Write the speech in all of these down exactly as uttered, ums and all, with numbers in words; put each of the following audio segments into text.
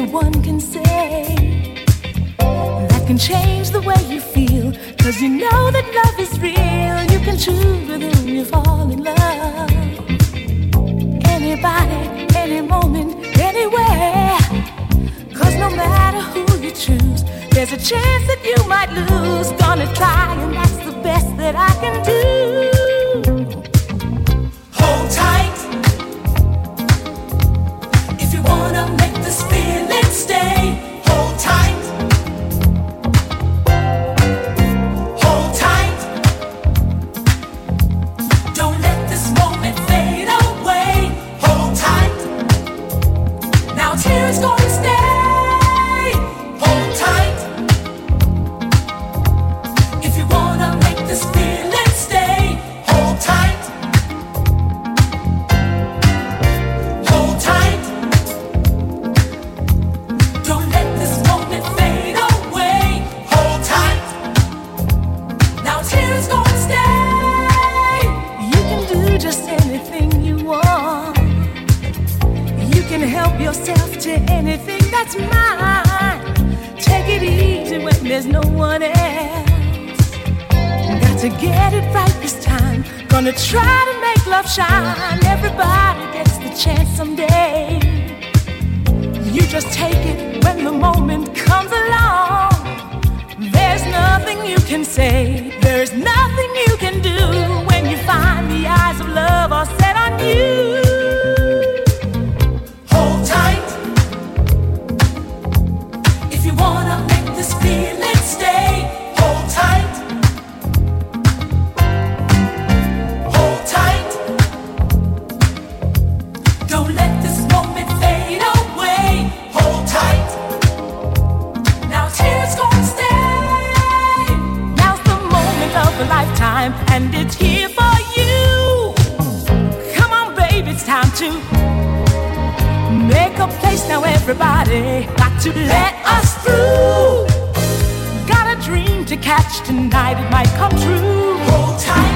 anyone can say that can change the way you feel. Cause you know that love is real. You can choose with whom you fall in love. Anybody, any moment, anywhere. Cause no matter who you choose, there's a chance that you might lose. Gonna try, and that's the best that I can do. Hold tight if you wanna make this feeling stay. Hold tight. Hold tight. Don't let this moment fade away. Hold tight. Now tears gonna stay. There's no one else. Got to get it right this time. Gonna try to make love shine. Everybody gets the chance someday. You just take it when the moment comes along. There's nothing you can say. There's nothing you can do when you find the eyes of love are set on you. Hold tight if you wanna make this feeling stay. Hold tight. Hold tight. Don't let this moment fade away. Hold tight. Now tears gonna stay. Now's the moment of a lifetime, and it's here for you. Come on, baby, it's time to make a place now. Everybody got to let us through. Got a dream to catch tonight, it might come true. Hold tight.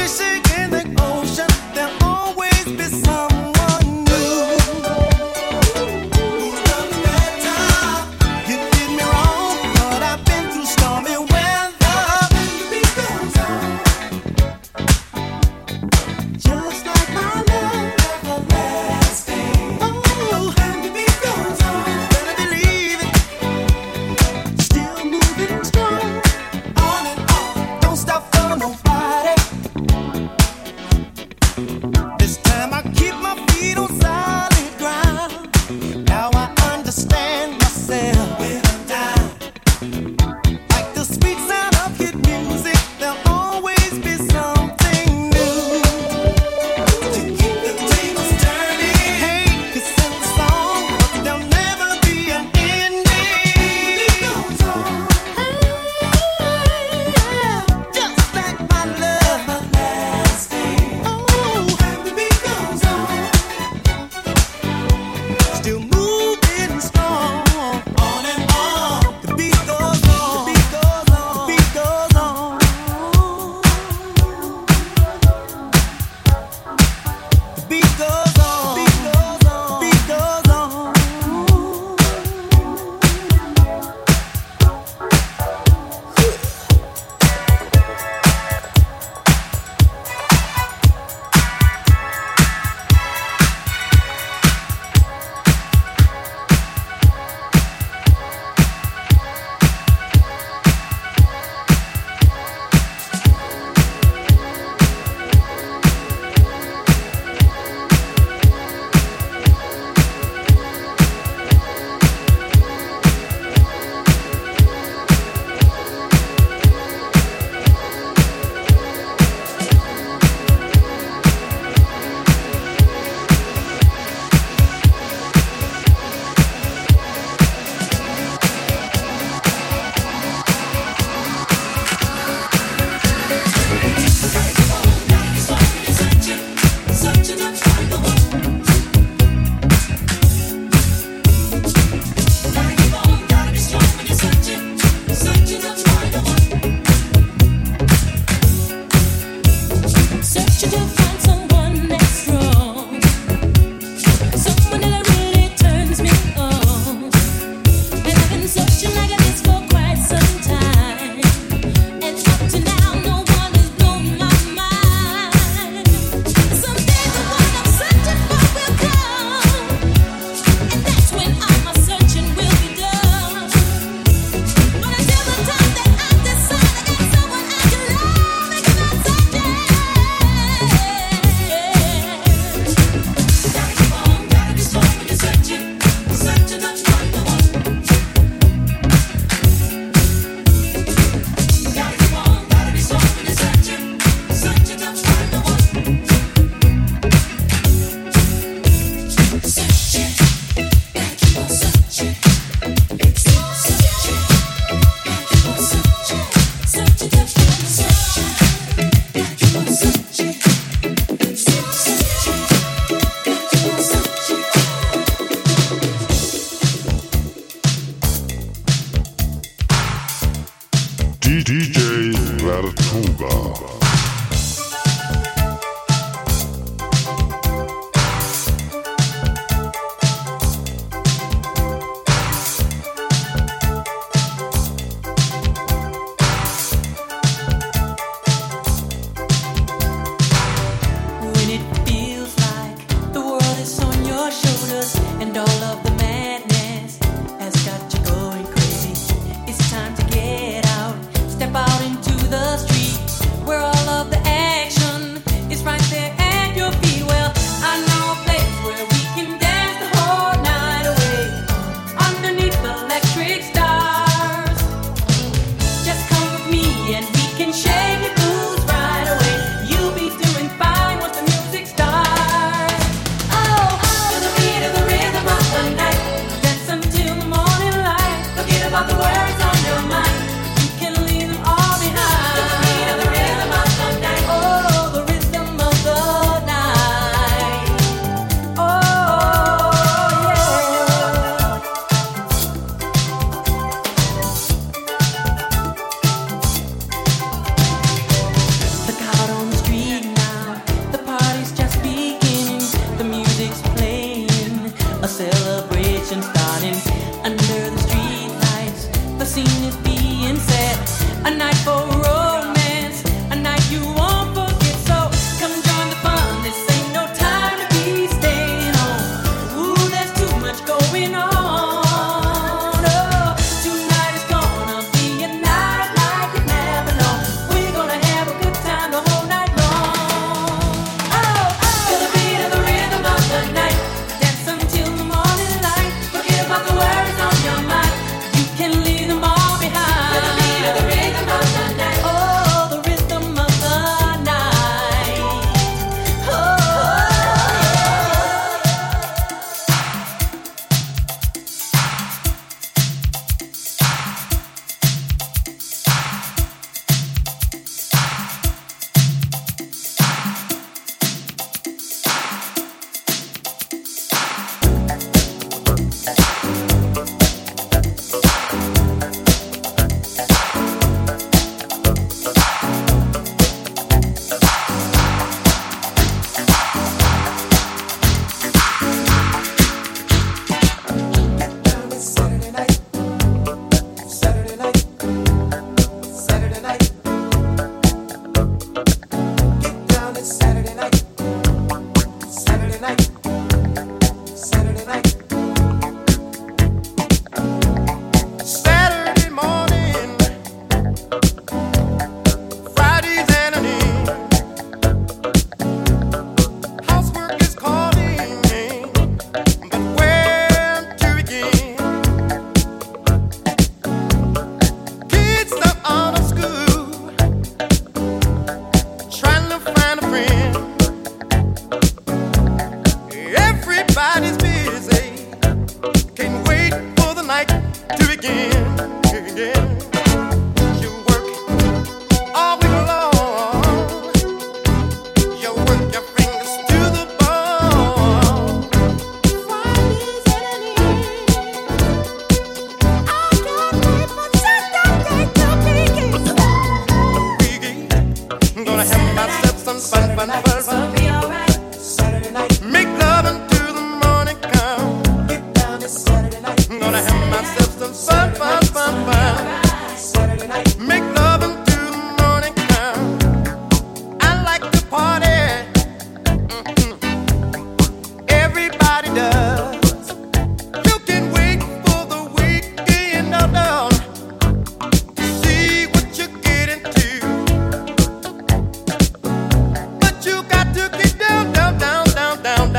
Like have myself some fun, fun, fun, fun. Be alright. Saturday night. Make love until the morning come. Get down this Saturday night. I'm gonna have myself some fun, fun, fun, fun. Saturday night. Make love until the morning come. I like to party. Mm-hmm. Everybody does. You can wait for the weekend, no, no. Down, down,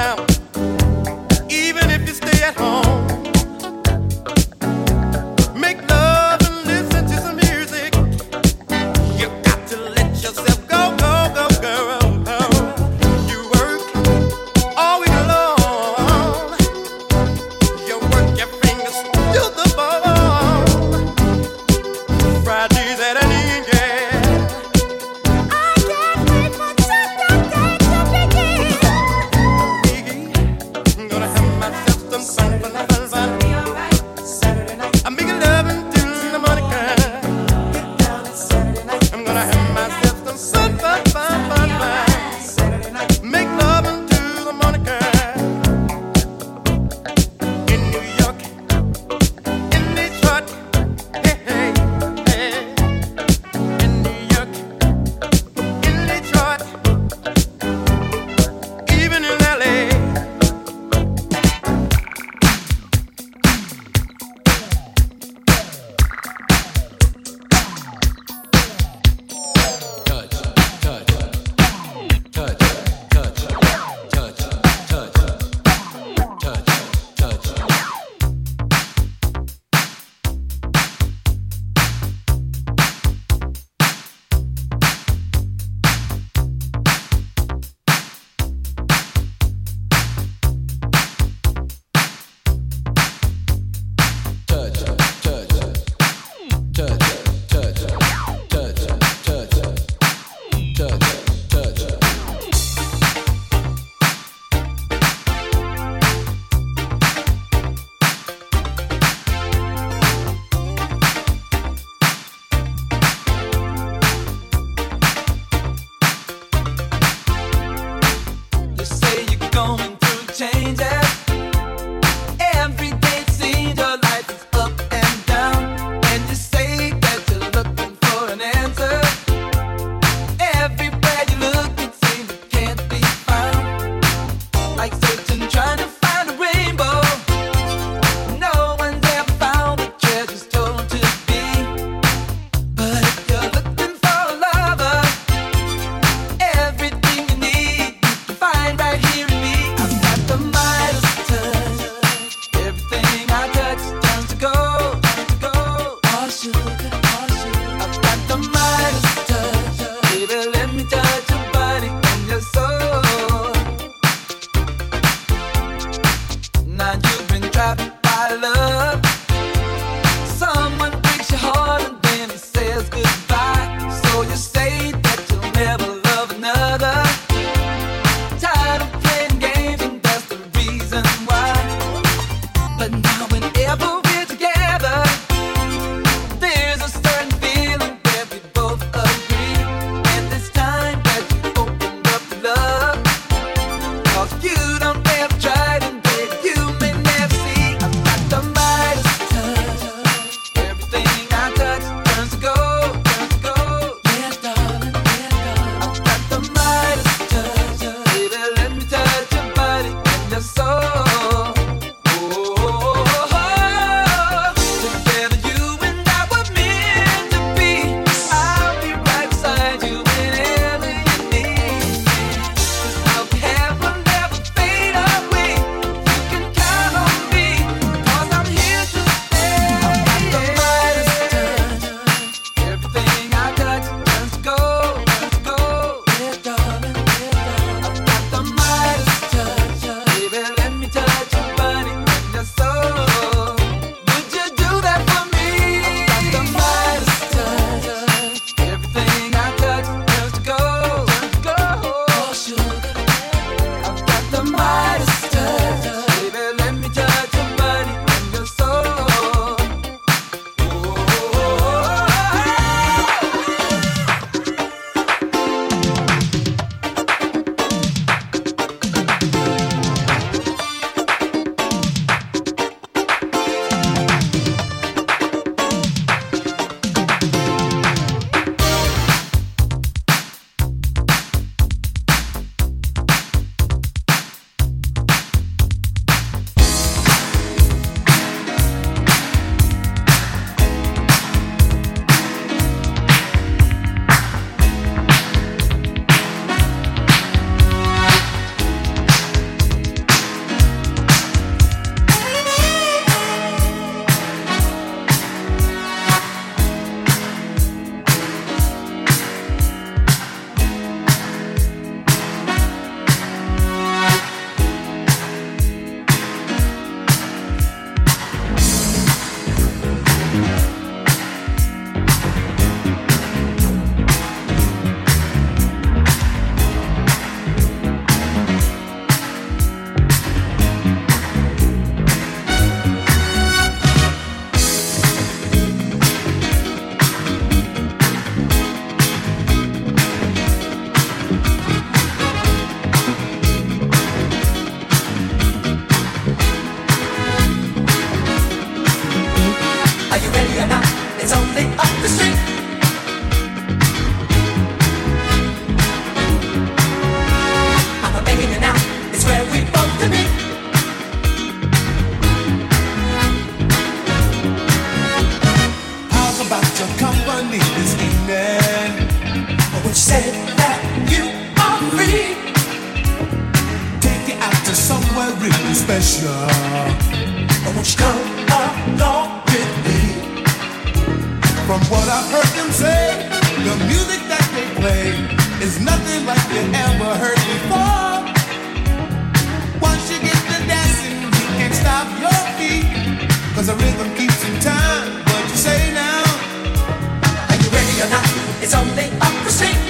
Come along with me. From what I've heard them say, the music that they play is nothing like you ever heard before. Once you get to dancing, you can't stop your feet, 'cause the rhythm keeps in time. What you say now? Are you ready or not? It's only up the street.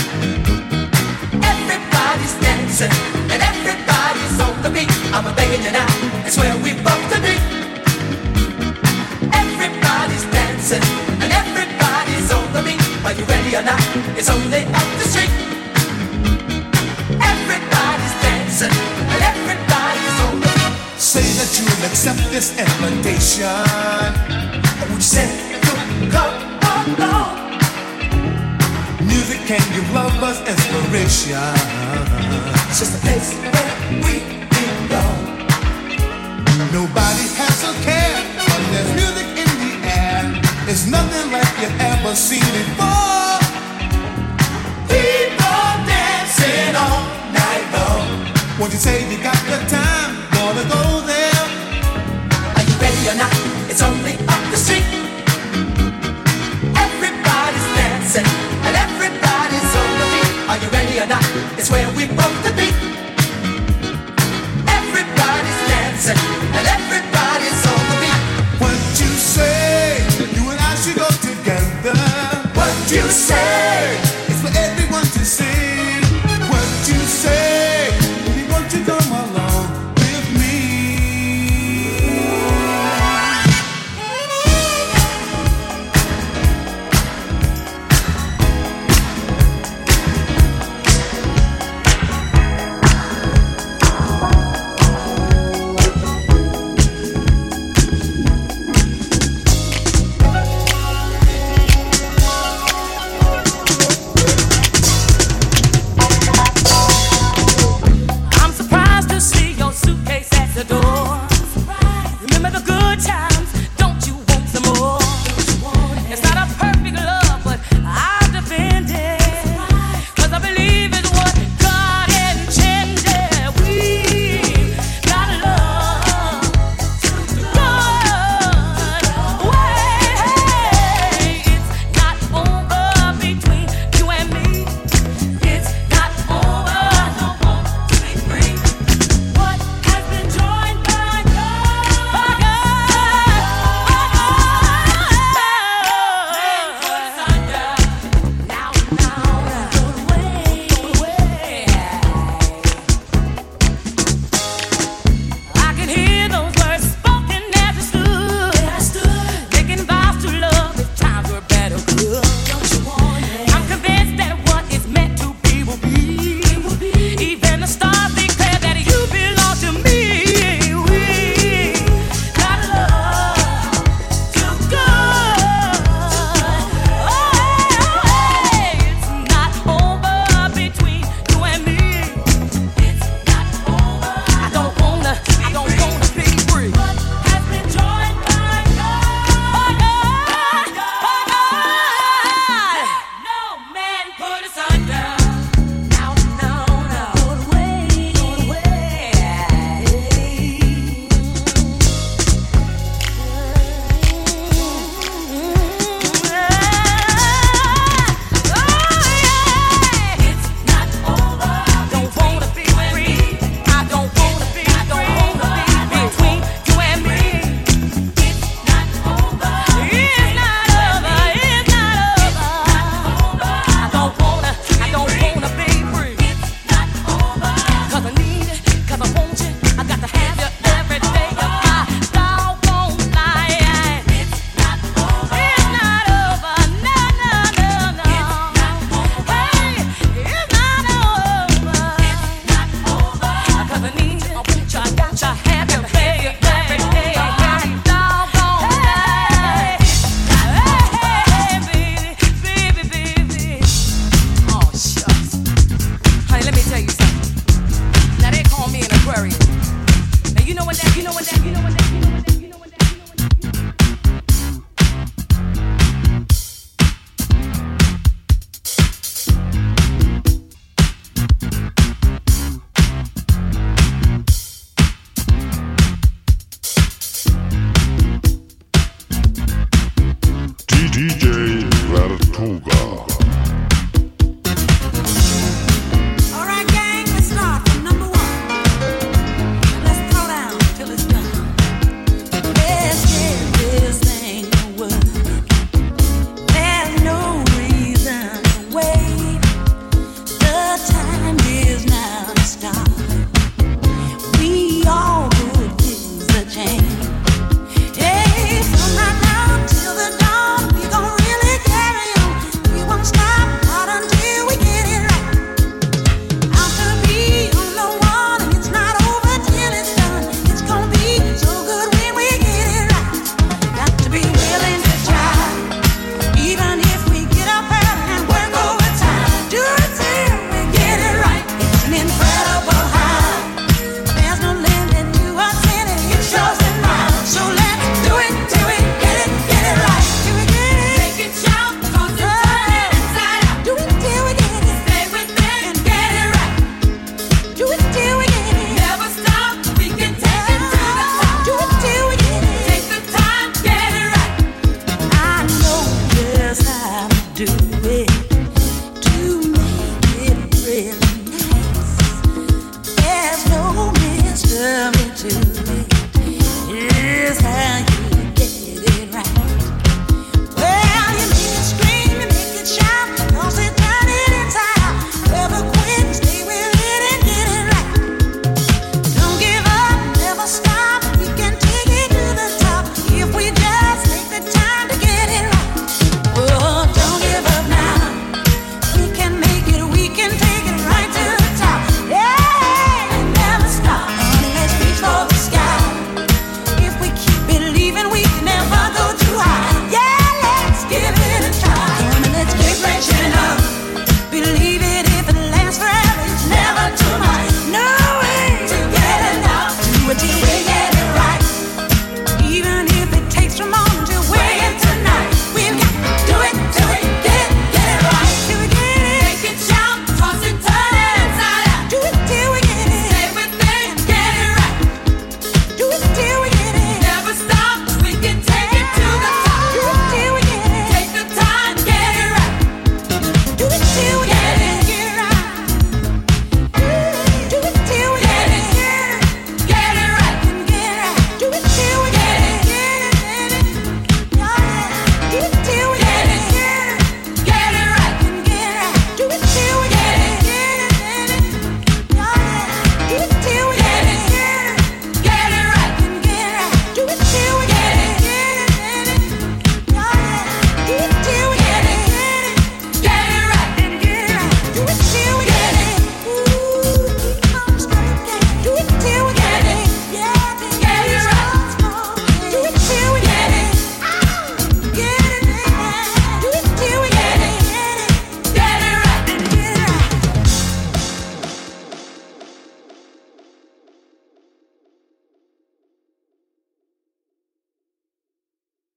Everybody's dancing and everybody's on the beat. I'm begging you now, it's where we both to be. Everybody's dancing and everybody's on the beat. Are you ready or not? It's only up the street. Everybody's dancing and everybody's on the beat. Say that you'll accept this invitation. Would you say, come along? Music can give lovers inspiration. It's just a place where we belong. Nobody has a care, but there's music in the air. It's nothing like you've ever seen before. People dancing all night long. Won't you say you got the time? Wanna go there? Are you ready or not? It's only up the street. Everybody's dancing and everybody's on the beat. Are you ready or not? It's where we both to be. Everybody's dancing and everybody's on the beat. What you say? You and I should go together. What you say?